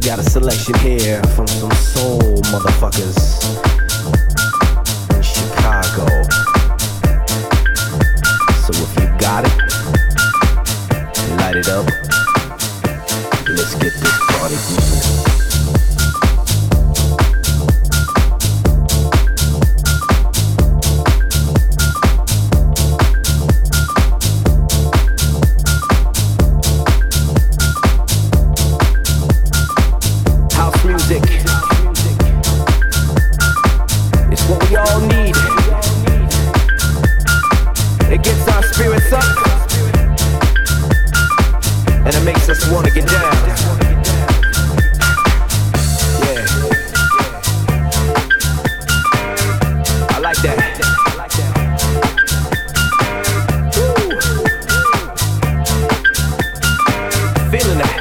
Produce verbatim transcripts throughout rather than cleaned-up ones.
got a selection here from some soul motherfuckers in Chicago. So if you got it, light it up. Let's get this party moving. Wanna get down. Yeah. I like that. Woo. Feeling that.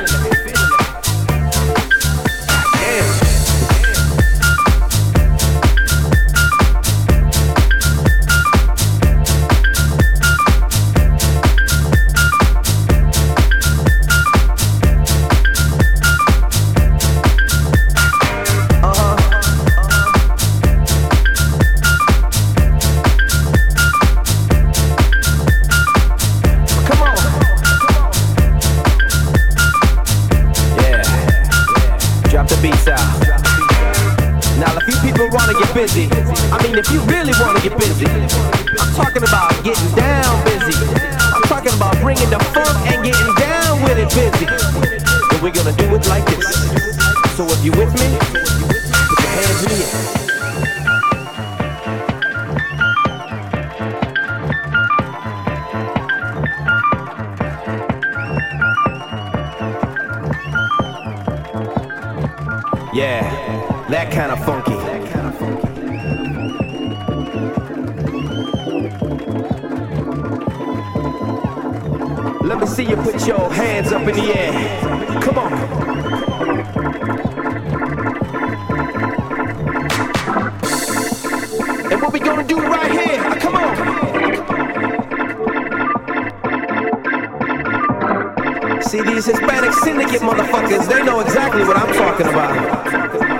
Busy. I mean, if you really want to get busy, I'm talking about getting down busy. I'm talking about bringing the funk and getting down with it busy. And we're gonna do it like this. So if you with me, put your hands in the air. Yeah, that kind of funky. Let me see you put your hands up in the air. Come on. And what we gonna do right here? Come on. See, these Hispanic syndicate motherfuckers, they know exactly what I'm talking about.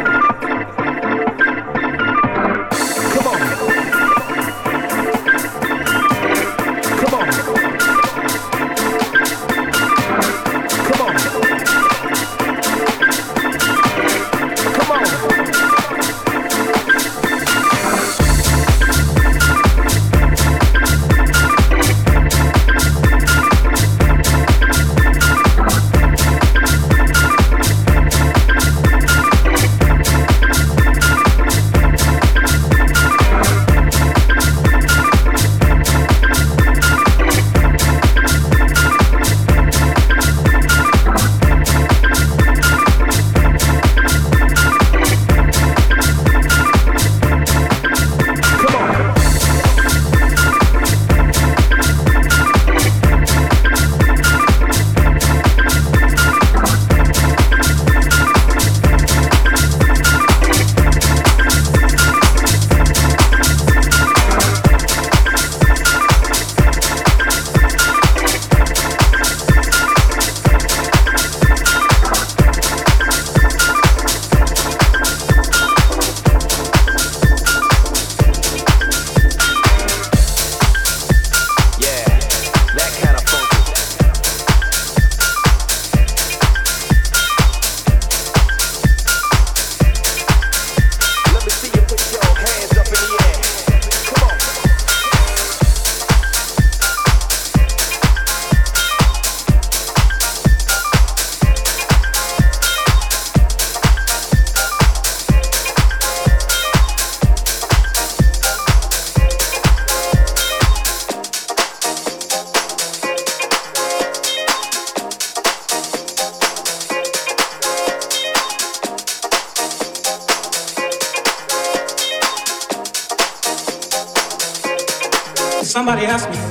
Somebody asked me.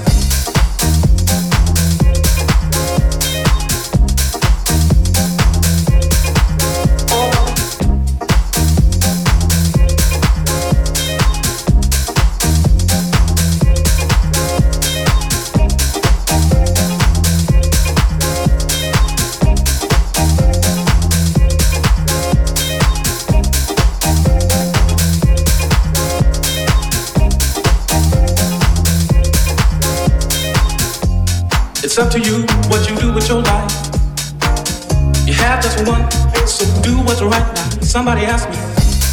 to you what you do with your life. You have just one, so do what's right now. Somebody asked me.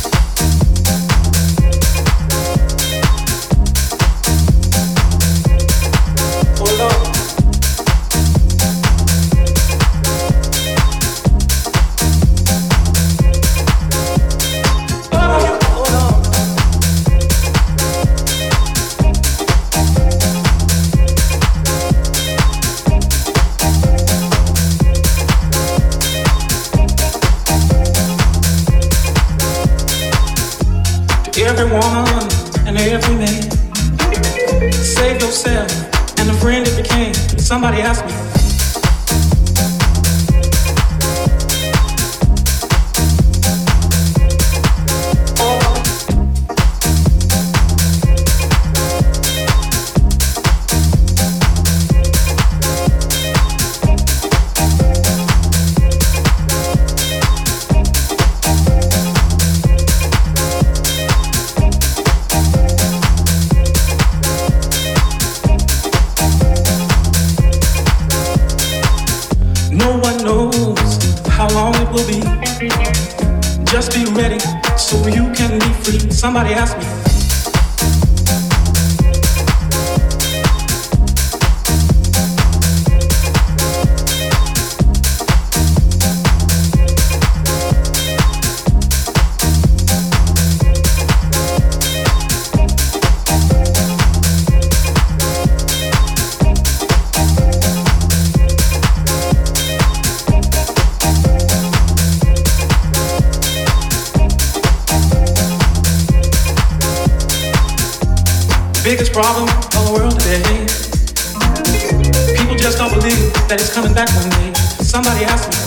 Hold on. Every woman and every man, save yourself and the friend it became. Somebody asked me. Just be ready so you can be free. Somebody asked me. Biggest problem of the world today. People just don't believe that it's coming back one day. Somebody asked me.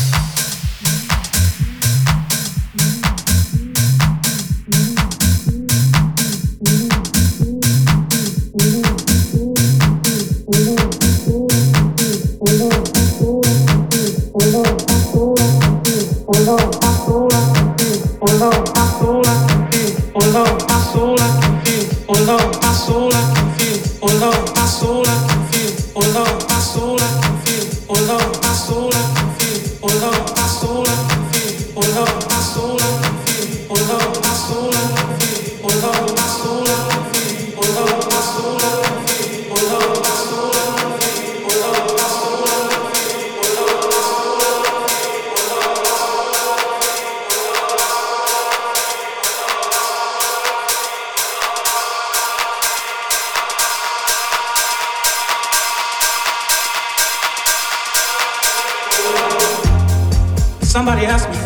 Somebody asked me.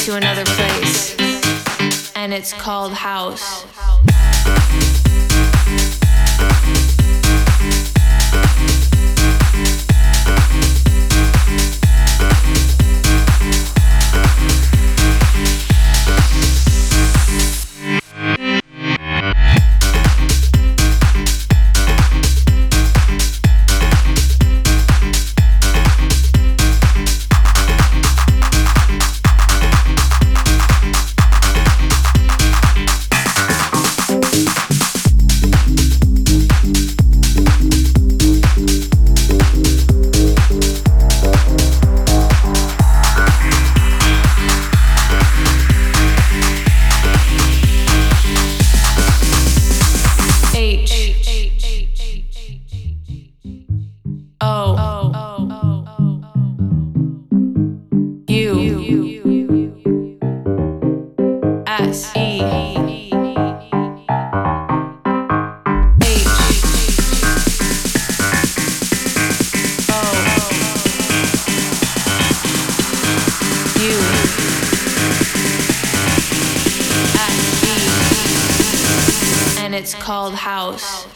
to another place, and it's called house. It's called house.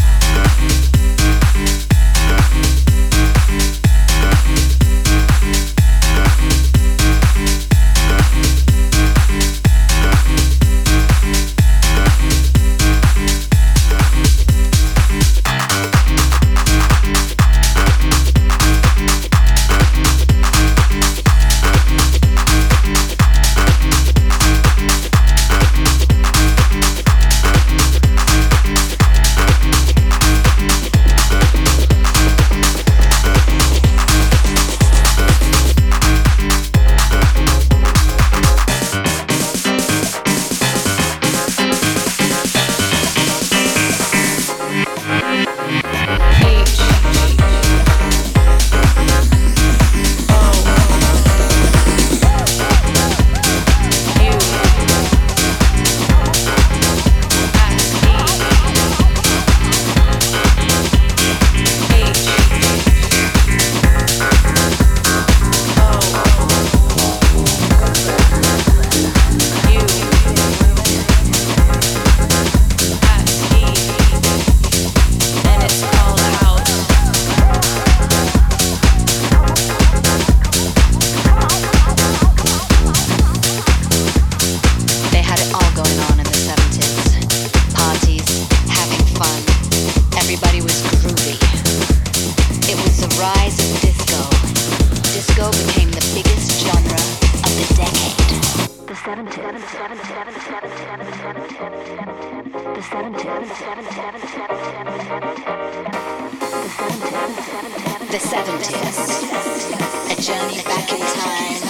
The seventies, a journey back in time.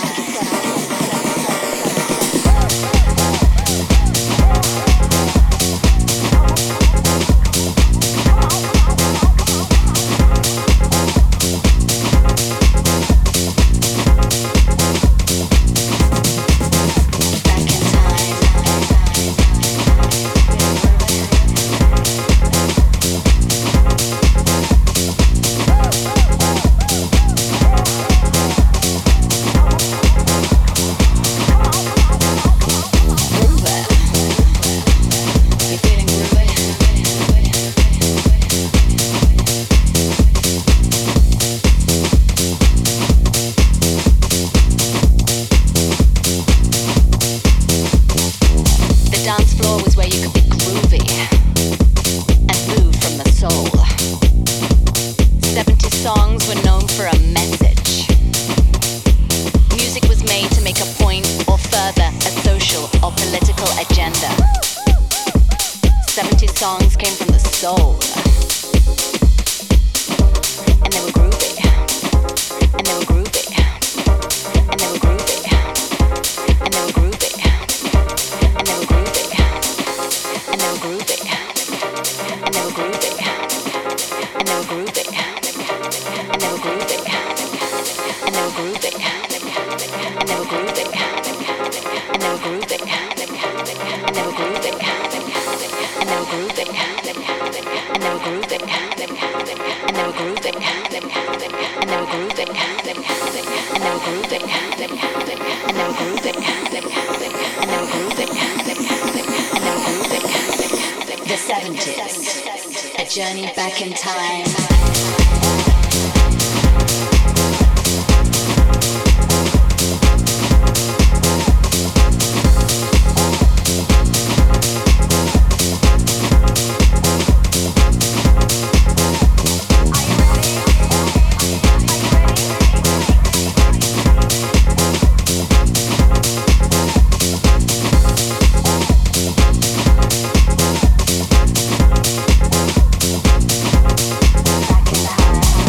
Songs came from the soul, and they were groovy, and they were groovy, and they were groovy, and they were groovy, and they were groovy, and they were groovy, and they were groovy, and they were groovy, and they were groovy, and they were groovy, and they were groovy, and they were groovy, and they were groovy. And they were grooving, and they were grooving, and they were grooving, and they were grooving, and they were grooving, and they were grooving, and they were grooving, and they were grooving, and and they were grooving, and they were grooving, and they were grooving. The seventies, a journey back in time. Back in the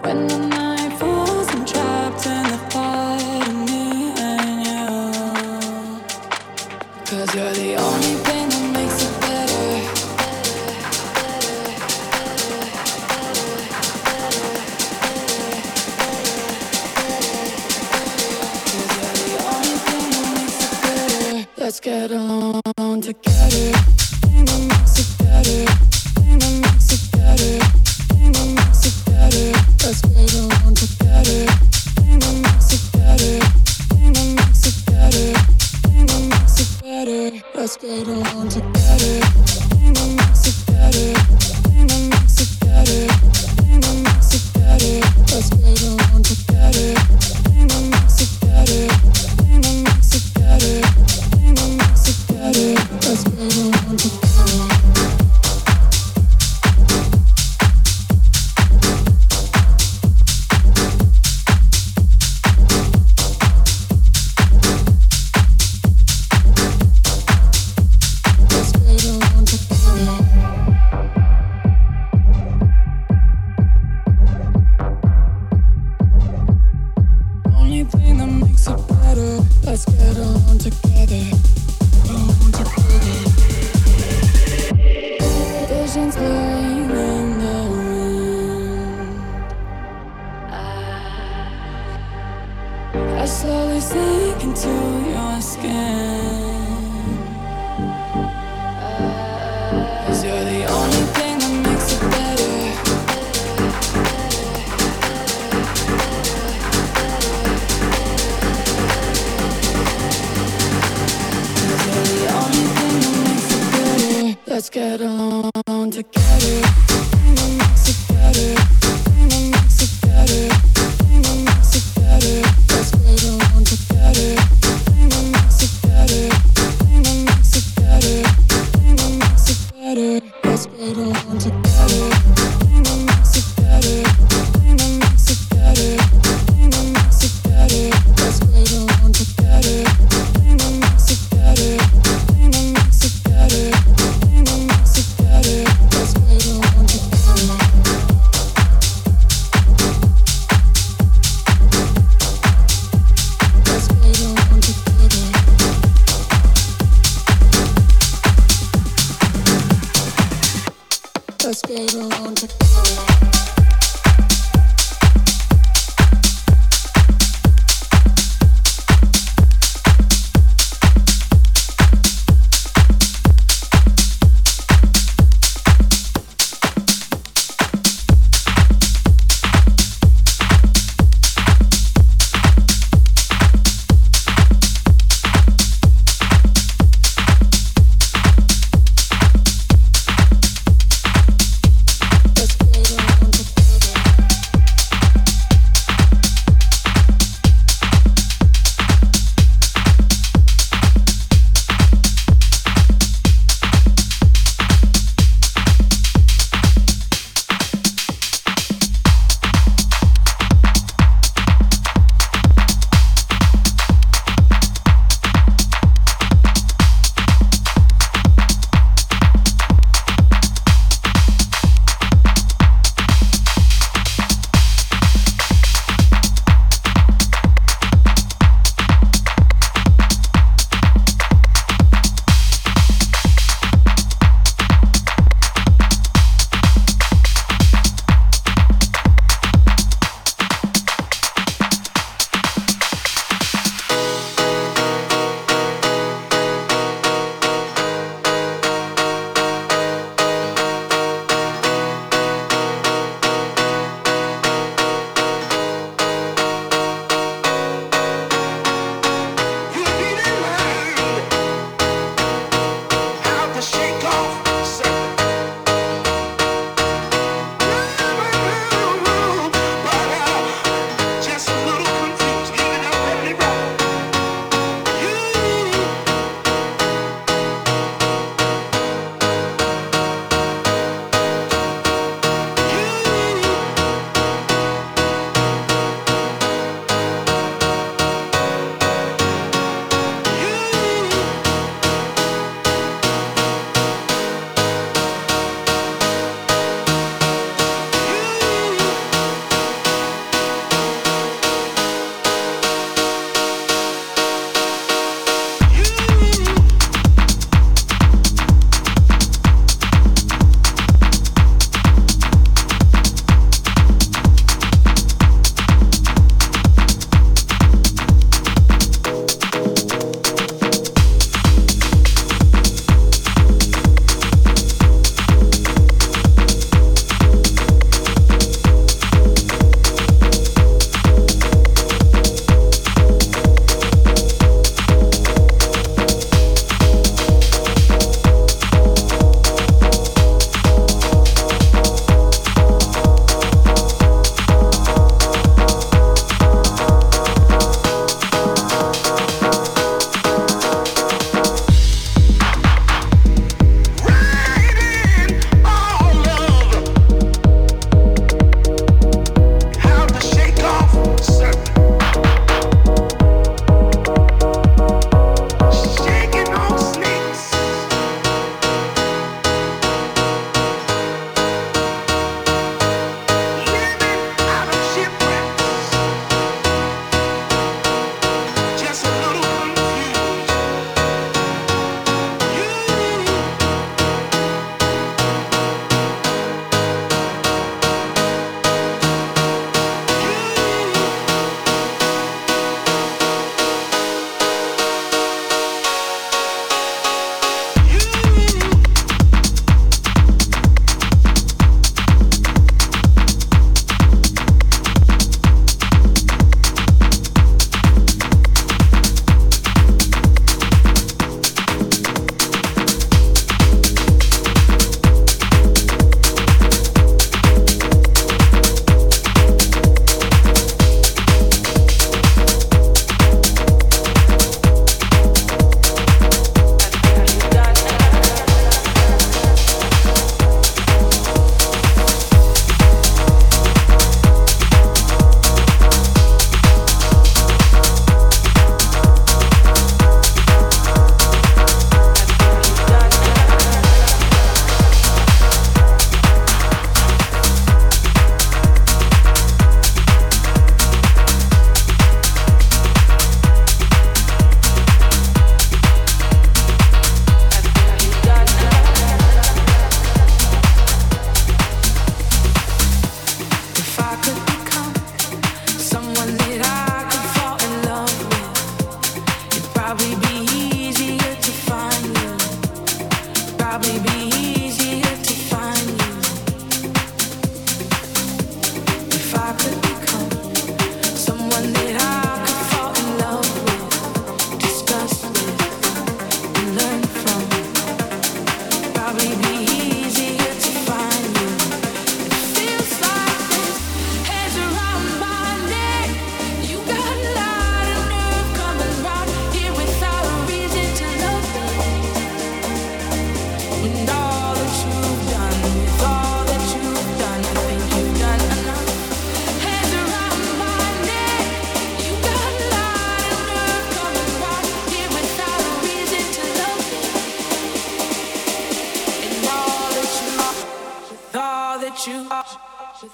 When the night falls, I'm trapped in the thought of me and you. 'Cause you're the only thing that makes it better. Let's get along together. Thing that makes it better. Thing that makes it better. Thing that makes it better. Let's get along together. Thing that makes it better. Thing that makes it better. Thing that makes it better. Let's get along together. Thing that makes it better. Thing that makes it better. Thing that makes it better. Let's get along together. Thing that makes it better. Thing that makes it better. Let's go on together. Only thing that makes it better. Let's get on together. Visions blurring in the wind. I slowly sink into your skin. 'Cause you're the only thing that makes it better. Let's get along together. Thing that makes it better. Thing that makes it better. Thing that makes it better. Let's get along together. Thing that makes it better.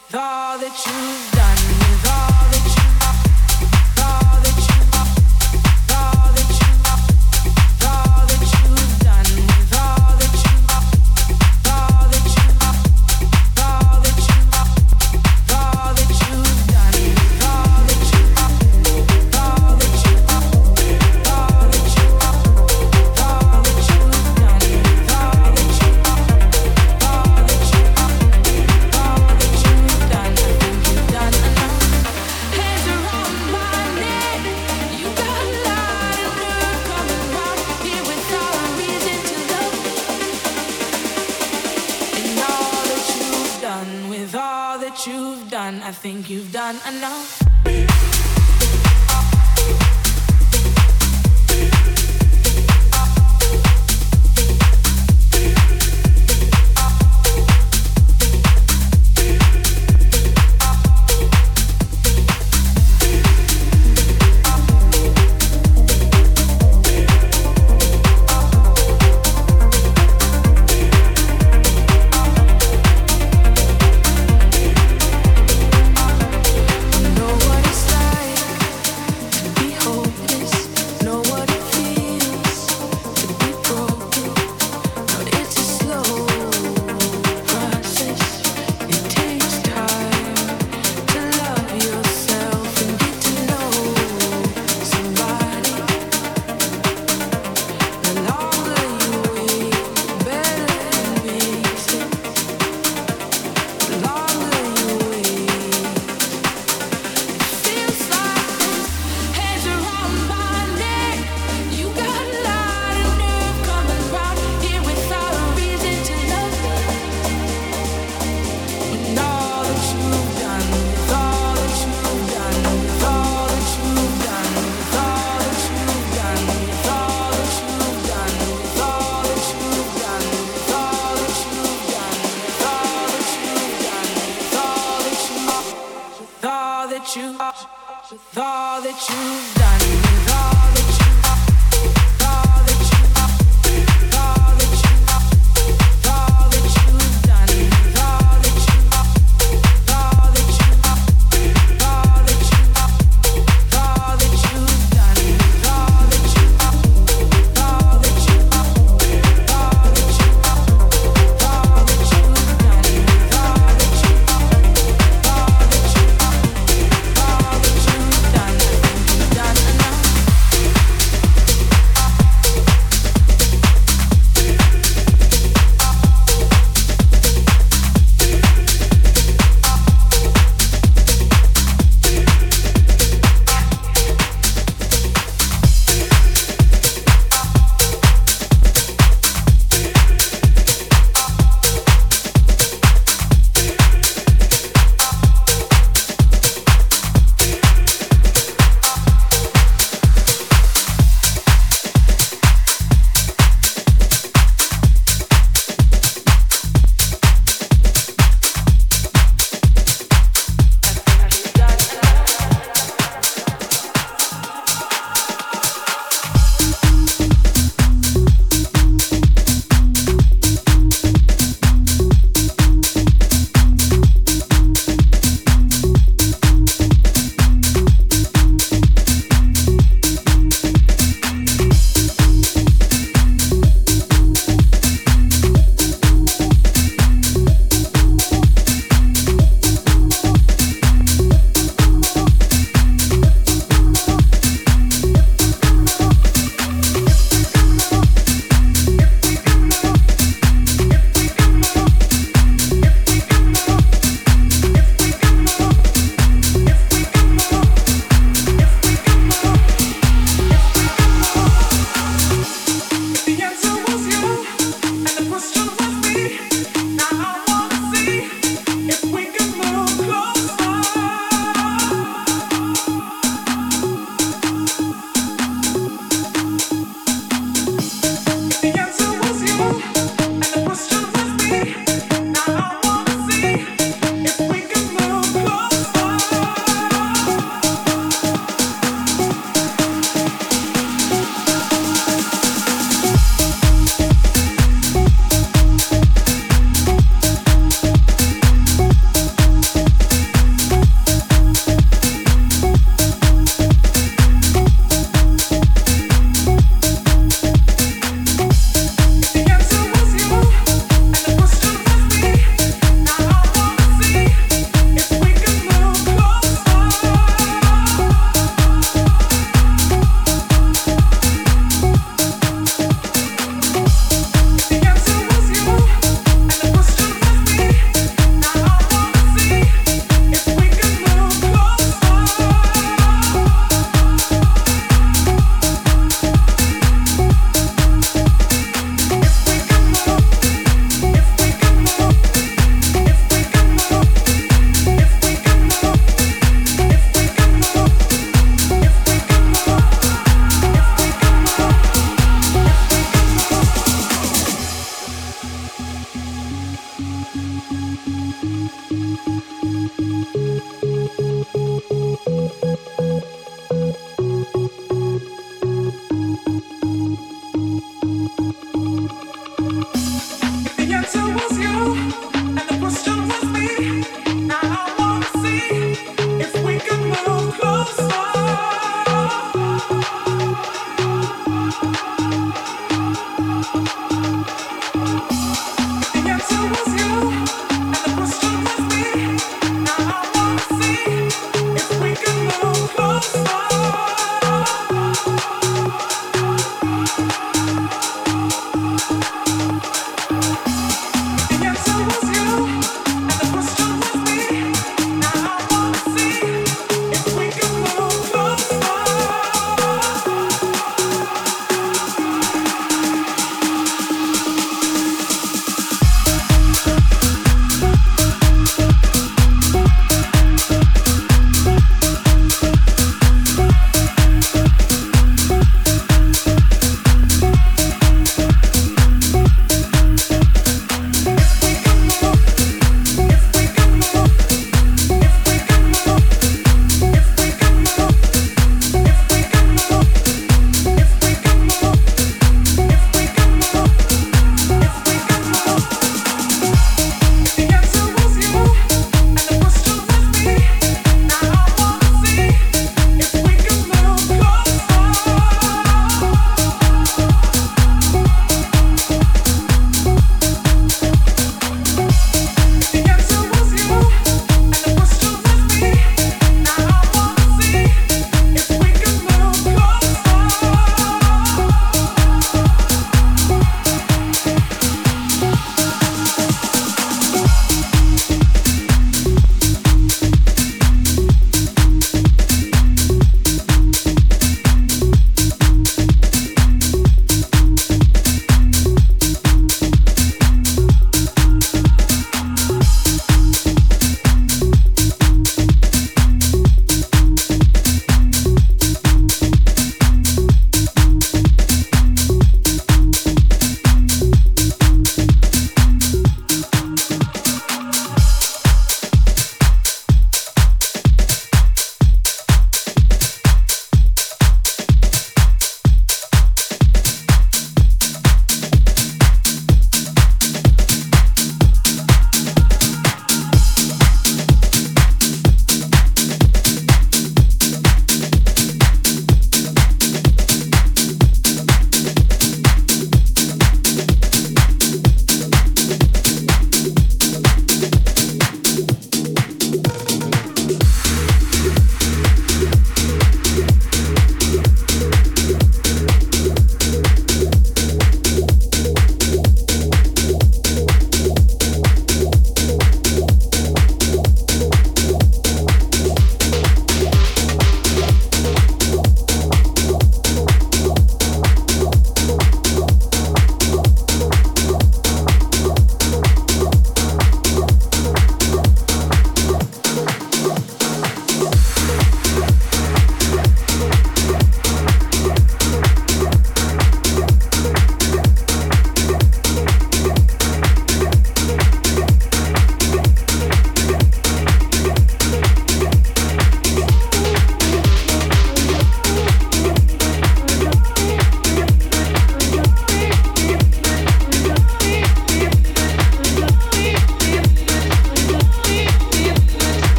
Done.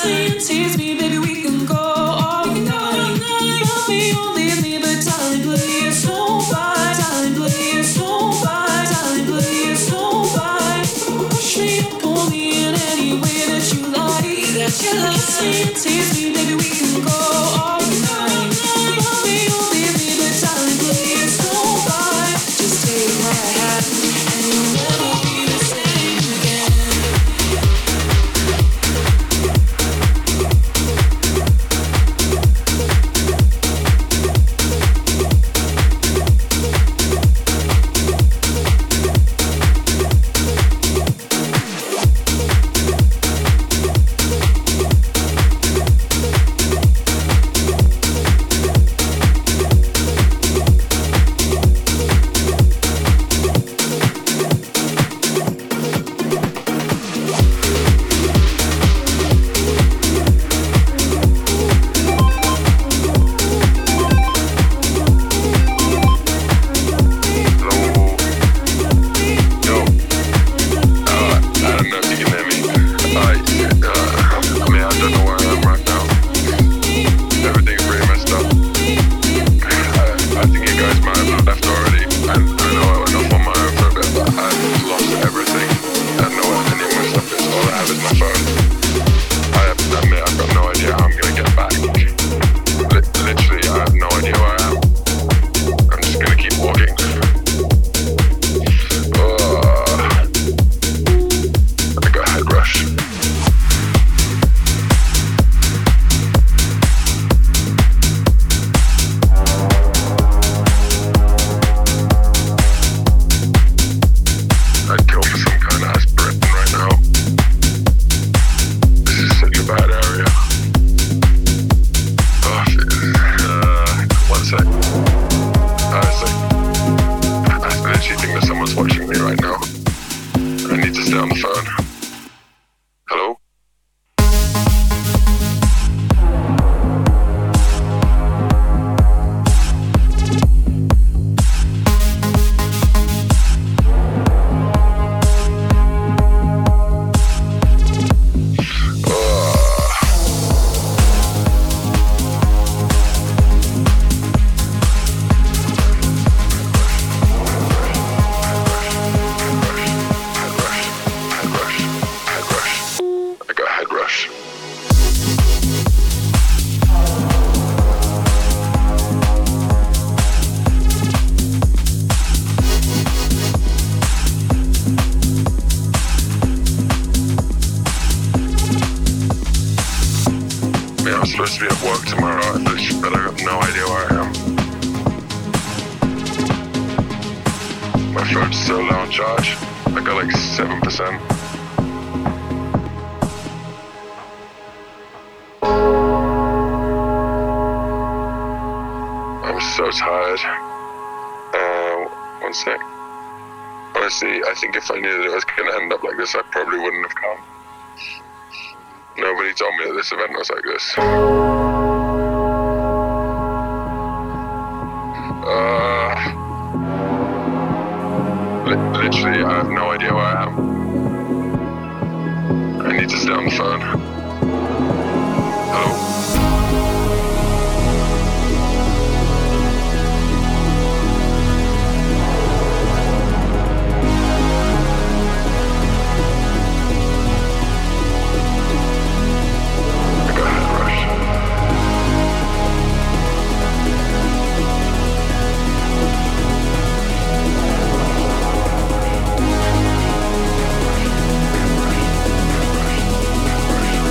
Rush.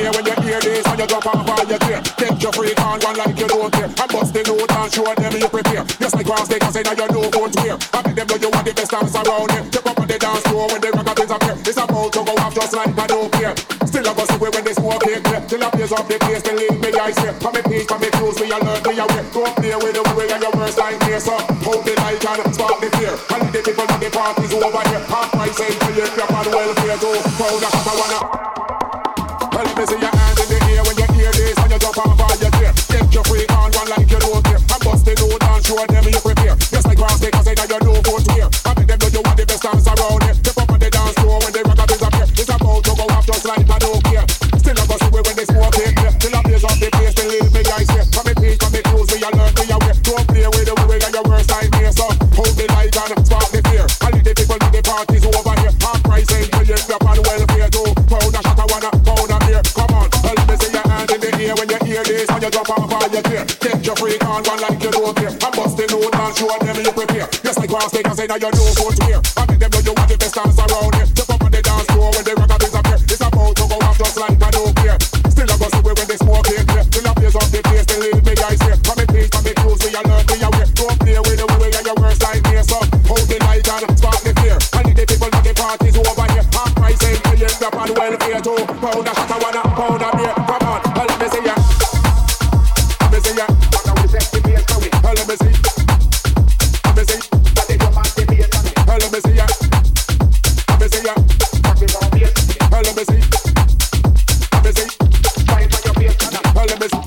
ear when you hear this. When you drop off all your gear, take your freak on one like you don't care. And bust the load and show them you prepare. Just like cross they can say now you know what's weird. I make them know you want the best dance around here. Step up on the dance floor when the rockabins appear. It's about to go off just like I don't care. Still I go see when they smoke it clear. Till I blaze up the place, they leave me ice here. Come me peace, come me close, me alert, me aware. Don't play with the way and your worst nightmare. So hold the light and spark the fear. And the people in the party's over here. Half price ain't till you clap and welfare too. Proud of I wanna. Well, let me see your hands in the air when you hear this. When you jump off all your gear, get your freak on one like you don't care. And bust the load and show them you prepare. Just like grass, they can say that you know what's weird. I make them know you want the best dance around here. Step up on the dance floor when the rockabins appear. It's about to go off just like I don't care. Still I go see when they smoke it clear. Till I blaze up the place, they leave me ice here. Come me peace, come me close, me alert, me aware. Don't play with the way and your worst nightmare. So hold the light and spark the fear. And the people in the party's over here. Half price ain't till you clap and welfare too. Pound a shot, I wanna pound a beer. Come on, well, let me see your hand in the air when you hear this. When you drop off all your gear, take your freak on one like you don't care. And bust the load and show them you prepare. Just like cross they can say now you know what's weird. I make them know you want the best dance around here. Step up on the dance floor when the rockabins appear. It's about to go off just like I don't care. Still I go see when they smoke it clear. Till I blaze up the place, they leave me ice here. Come me please, come me close, me alert, me aware. Don't play with the way and your worst nightmare. So hold the light and spark the fear. And the people in the party's over here. Half price ain't till you clap and welfare too. Pound a shot, I wanna pound a beer. Come on, well, let me see ya. Let me see ya. Well, let me see. Let me see. Well, let me see ya. Let me see ya. Well, let me see. Let me see. Well, let me see.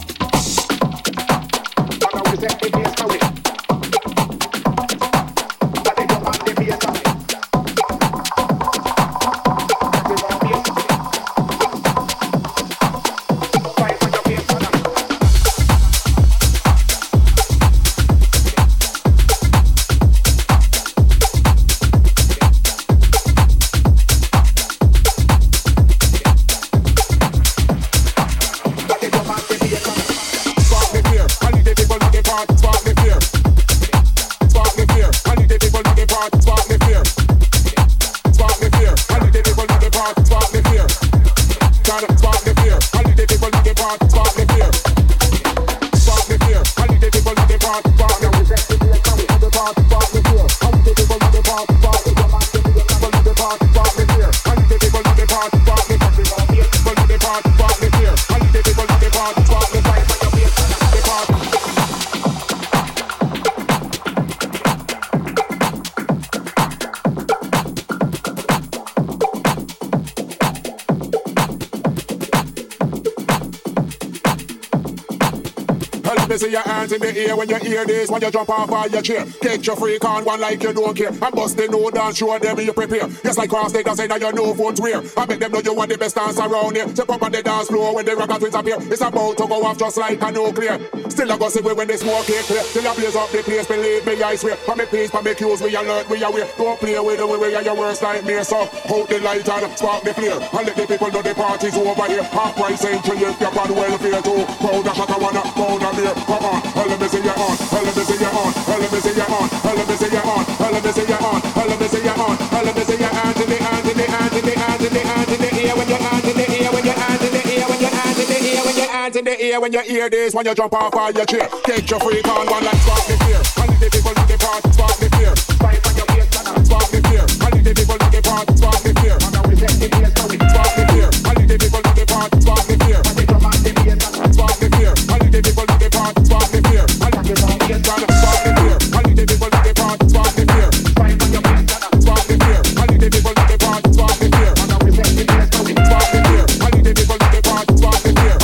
See your hands in the air when you hear this. When you jump off all your chair, get your freak on one like you don't care. And bust the load and show them you prepare. Just like cross they can say that you know what's weird. I make them know you want the best dance around here. Step up on the dance floor when the rockabins appear. It's about to go off just like a nuclear. Still I go see when they smoke it clear. Till I blaze up the place, believe me I swear. For me peace, for me cues, we alert, we aware. Don't play with the way and your worst nightmare. So hold the light and spark the flare. And let the people know the party's over here. Half price ain't till you step on welfare too. Pound a shot, I wanna pound a beer. Come on, well, let me see you on, well, let me see you on, well, let me see you on, well, let me see you on, well, let me see you on, well, let me see you on, well, let me see your hands in the hands in the hands in the hands in the hands in the ear when your hands in the ear when your hands in the ear when your hands in the ear when your hands in the ear when you hear this when you jump off all your chair. Take your freak on one like spark the fear. And the people in the party spark the fear. Spark the fear. And the people in the party spark the fear. Spark the fear. And the people in the party spark the fear. Spark the fear. And the people in the party spark the fear. And the people in the party spark the fear. And the people in the party spark the fear. Spark the fear. And the people in the party spark the fear. Spark the fear. And the people in the party spark the fear. Spark the fear. And the people in the party spark the fear.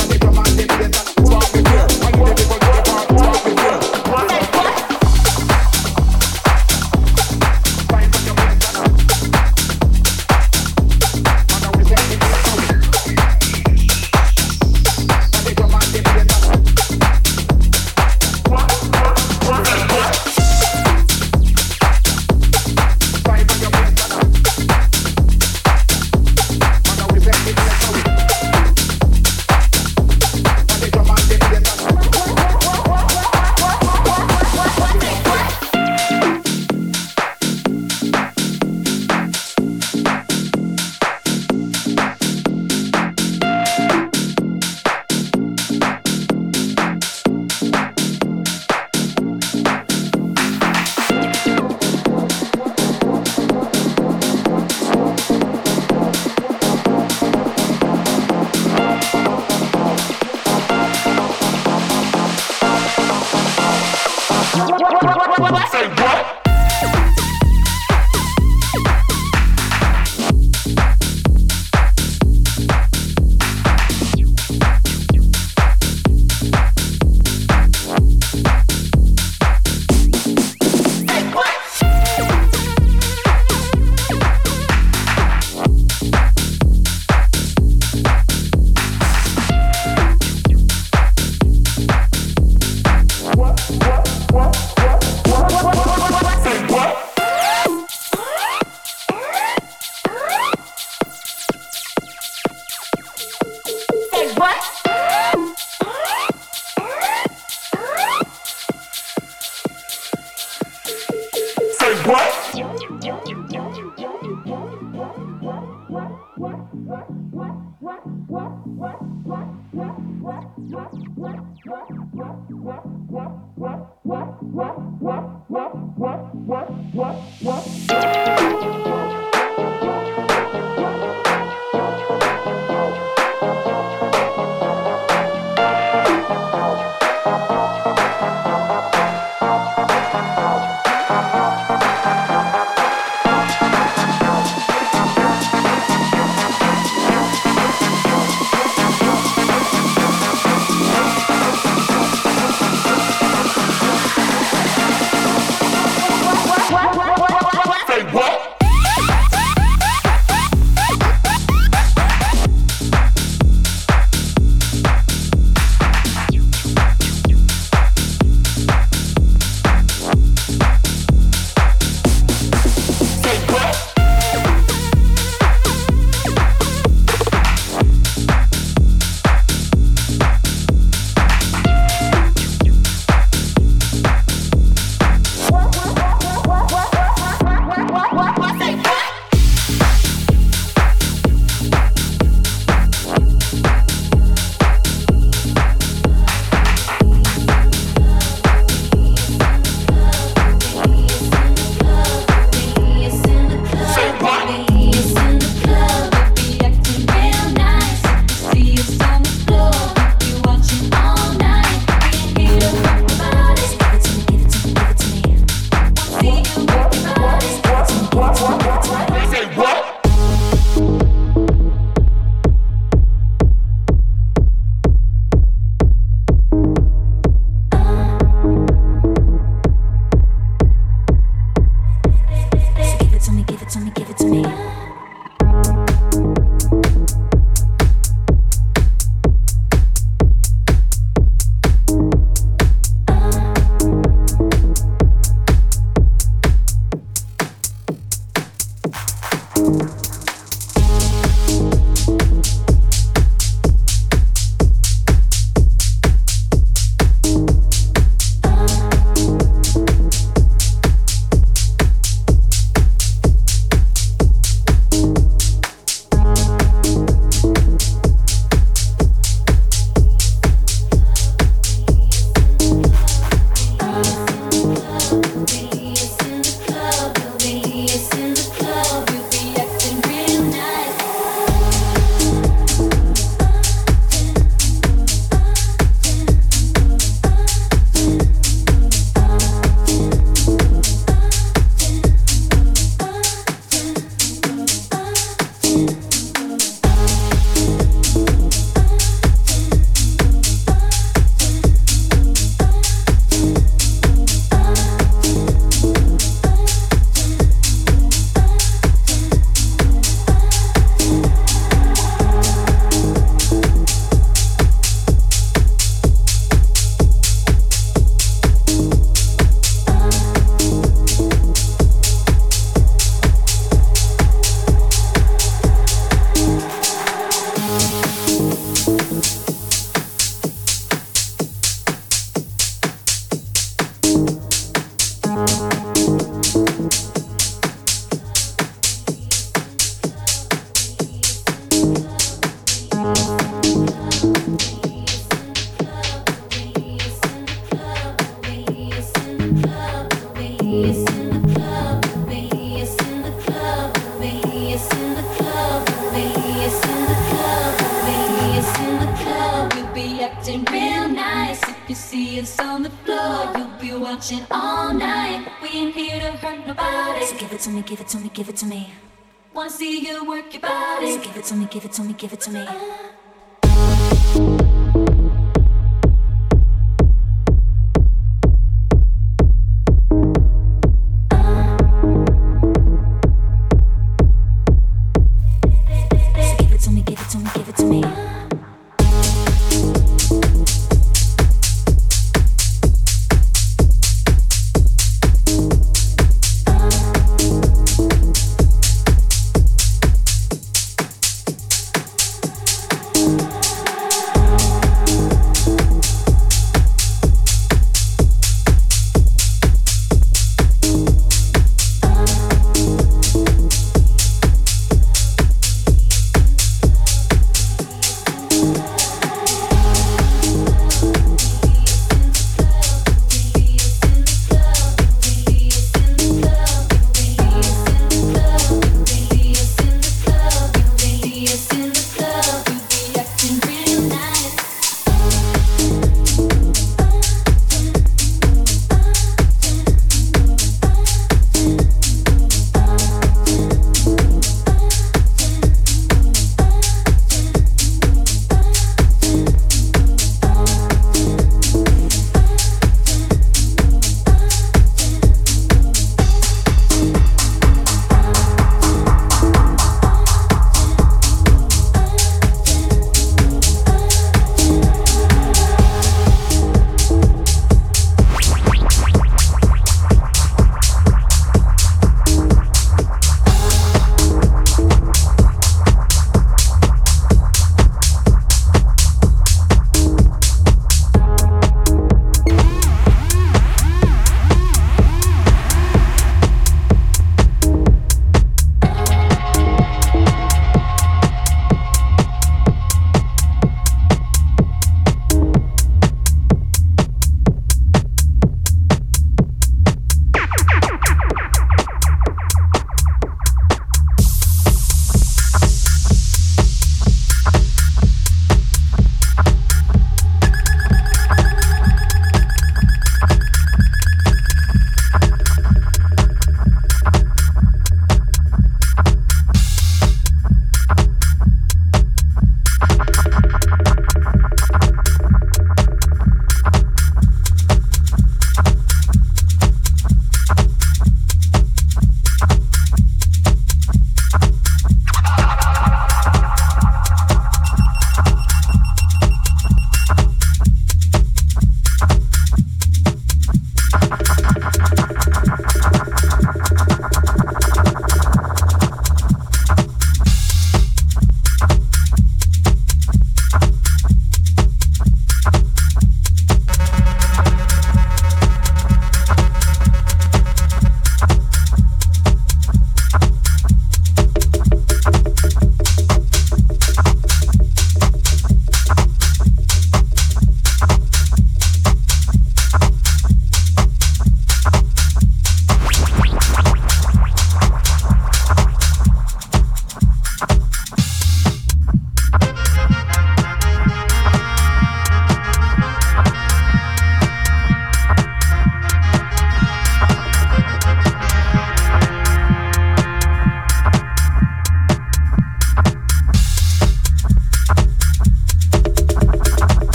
Give it to me, give it to me. Wanna see you work your body. So give it to me, give it to me, give it to me.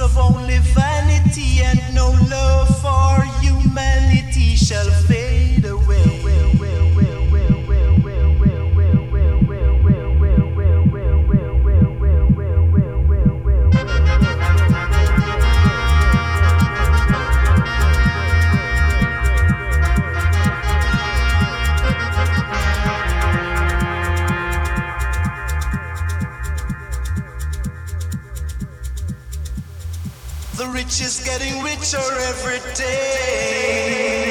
of only vanity and no love for humanity shall fade away. The rich is getting richer every day.